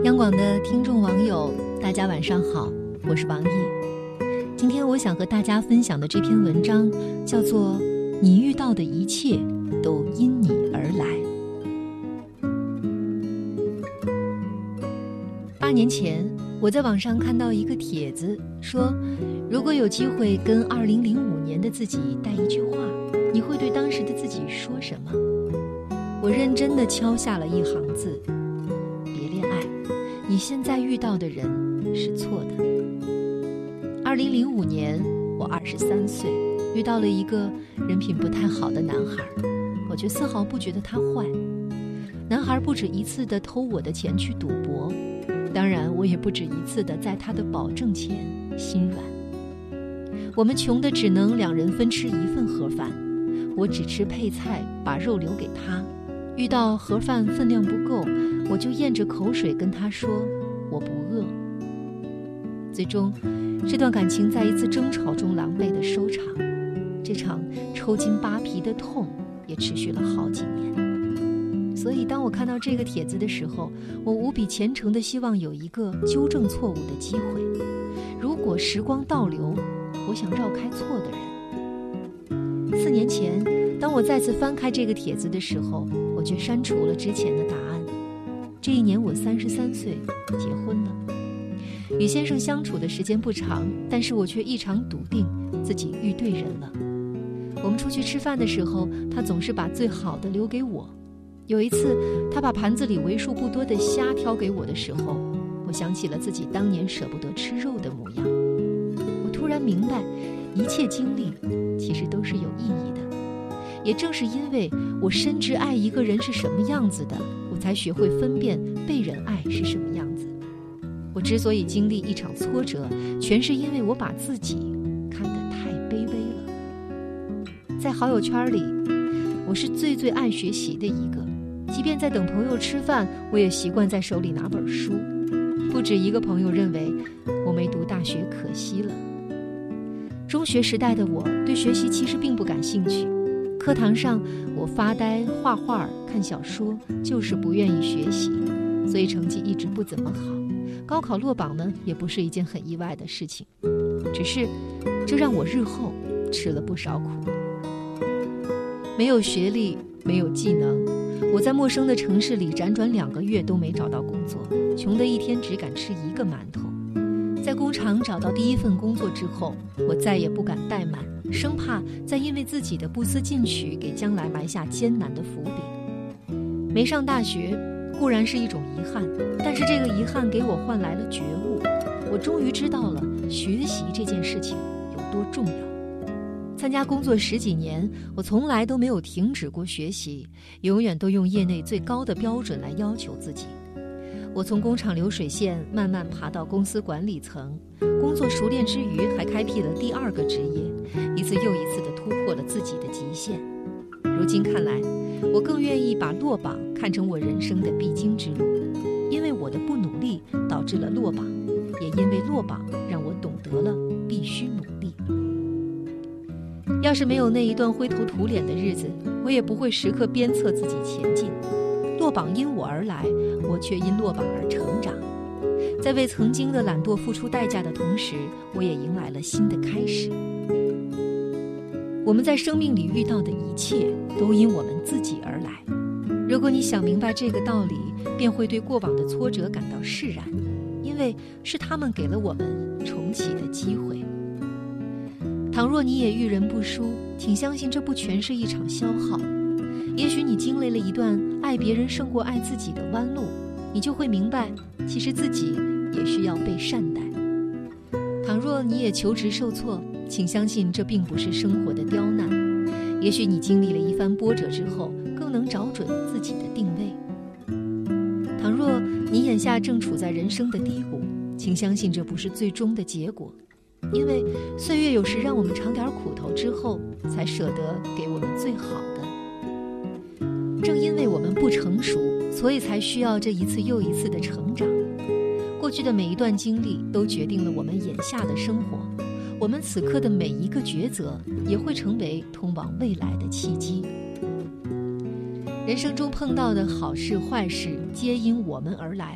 央广的听众网友，大家晚上好，我是王毅。今天我想和大家分享的这篇文章叫做《你遇到的一切都因你而来》。8年前，我在网上看到一个帖子，说如果有机会跟2005年的自己带一句话，你会对当时的自己说什么？我认真地敲下了一行字：别恋爱，你现在遇到的人是错的。2005年，我23岁，遇到了一个人品不太好的男孩，我却丝毫不觉得他坏。男孩不止一次地偷我的钱去赌博，当然我也不止一次地在他的保证前心软。我们穷得只能2人分吃1份盒饭，我只吃配菜，把肉留给他。遇到盒饭分量不够，我就咽着口水跟他说我不饿。最终这段感情在一次争吵中狼狈的收场，这场抽筋扒皮的痛也持续了好几年。所以当我看到这个帖子的时候，我无比虔诚地希望有一个纠正错误的机会。如果时光倒流，我想绕开错的人。4年前，当我再次翻开这个帖子的时候，我却删除了之前的答案。这一年我33岁，结婚了。与先生相处的时间不长，但是我却异常笃定自己遇对人了。我们出去吃饭的时候，他总是把最好的留给我。有一次，他把盘子里为数不多的虾挑给我的时候，我想起了自己当年舍不得吃肉的模样。我突然明白，一切经历其实都是有意义的。也正是因为我深知爱一个人是什么样子的，我才学会分辨被人爱是什么样子。我之所以经历一场挫折，全是因为我把自己看得太卑微了。在好友圈里，我是最爱学习的一个，即便在等朋友吃饭，我也习惯在手里拿本书。不止一个朋友认为我没读大学可惜了。中学时代的我对学习其实并不感兴趣，课堂上我发呆、画画、看小说，就是不愿意学习，所以成绩一直不怎么好。高考落榜呢，也不是一件很意外的事情，只是这让我日后吃了不少苦。没有学历，没有技能，我在陌生的城市里辗转2个月都没找到工作，穷得一天只敢吃1个馒头。在工厂找到第1份工作之后，我再也不敢怠慢，生怕再因为自己的不思进取给将来埋下艰难的伏笔。没上大学固然是一种遗憾，但是这个遗憾给我换来了觉悟。我终于知道了学习这件事情有多重要。参加工作10几年，我从来都没有停止过学习，永远都用业内最高的标准来要求自己。我从工厂流水线慢慢爬到公司管理层，工作熟练之余还开辟了第2个职业，一次又一次地突破了自己的极限。如今看来，我更愿意把落榜看成我人生的必经之路，因为我的不努力导致了落榜，也因为落榜让我懂得了必须努力。要是没有那一段灰头土脸的日子，我也不会时刻鞭策自己前进。落榜因我而来，我却因落榜而成长。在为曾经的懒惰付出代价的同时，我也迎来了新的开始。我们在生命里遇到的一切都因我们自己而来。如果你想明白这个道理，便会对过往的挫折感到释然，因为是他们给了我们重启的机会。倘若你也遇人不淑，请相信这不全是一场消耗。也许你经历了一段爱别人胜过爱自己的弯路，你就会明白，其实自己也需要被善待。倘若你也求职受挫，请相信这并不是生活的刁难。也许你经历了一番波折之后，更能找准自己的定位。倘若你眼下正处在人生的低谷，请相信这不是最终的结果。因为岁月有时让我们尝点苦头之后，才舍得给我们最好的。正因为我们不成熟，所以才需要这一次又一次的成长。过去的每一段经历都决定了我们眼下的生活，我们此刻的每一个抉择也会成为通往未来的契机。人生中碰到的好事坏事皆因我们而来，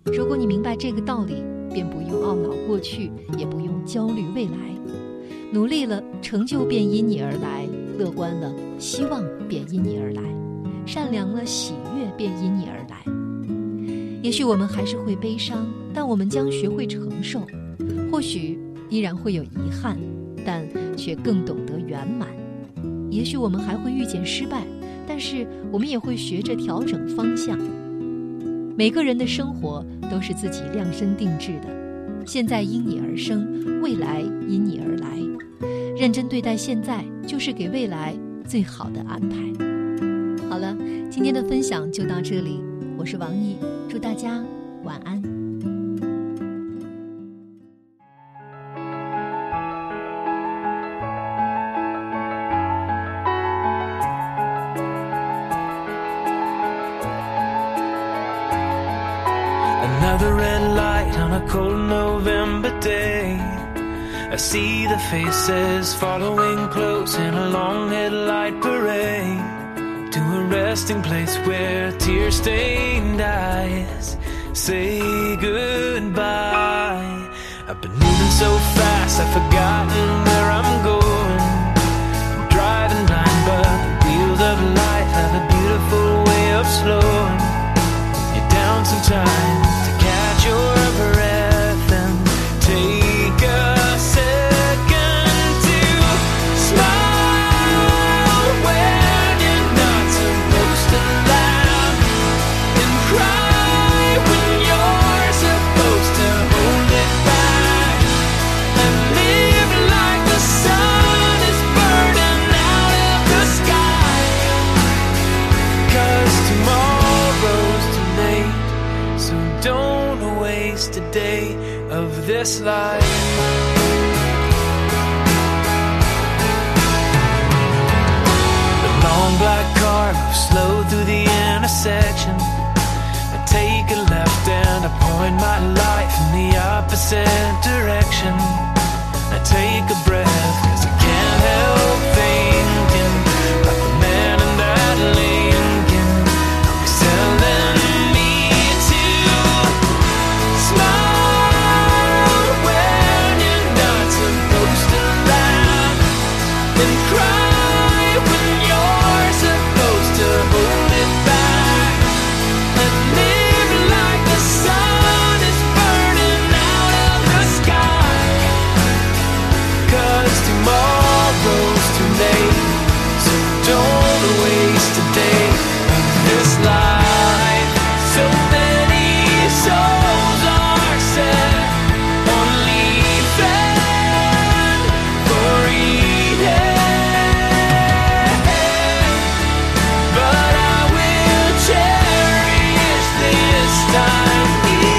如果你明白这个道理，便不用懊恼过去，也不用焦虑未来。努力了，成就便因你而来；乐观了，希望便因你而来；善良了，喜悦便因你而来。也许我们还是会悲伤，但我们将学会承受；或许依然会有遗憾，但却更懂得圆满。也许我们还会遇见失败，但是我们也会学着调整方向。每个人的生活都是自己量身定制的，现在因你而生，未来因你而来。认真对待现在，就是给未来最好的安排。好了，今天的分享就到这里，我是王毅，祝大家晚安。 Another red light on a cold November day. I see the faces following close in a long headlight parade to a resting place where tear-stained eyes say goodbye. I've been moving so fast I've forgotten where I'm going. I'm driving blind, but the wheels of life have a beautiful way of slowing you down sometimes. Your breath and take a second to smile when you're not supposed to laugh, and cry when you're supposed to hold it back, and live like the sun is burning out of the sky, 'cause tomorrow's too late, so don't waste a day of this life. The long black car moves slow through the intersection. I take a left and I point my life in the opposite direction. I take a breath 'cause I can't help thinking about the man in that Lincoln. He's telling me to smile when you're not supposed to laugh, and cry when you're supposed to hold it back, and live like the sun is burning out of the sky, 'cause tomorrow's too late, so don't waste a day of this life. So many souls are set on leaving for Eden, but I will cherish this time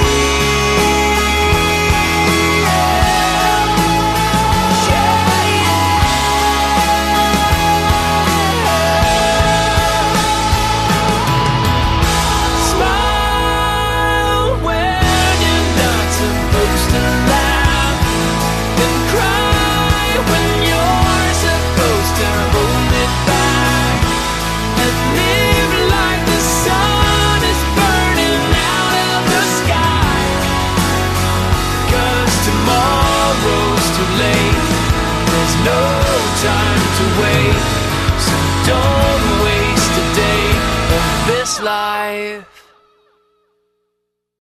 Smile when you're not supposed to laugh, and cry when you're supposed to hold it back, and live like the sun is burning out of the sky, 'cause tomorrow's too late, there's no time to wait, so don't waste a day of this life.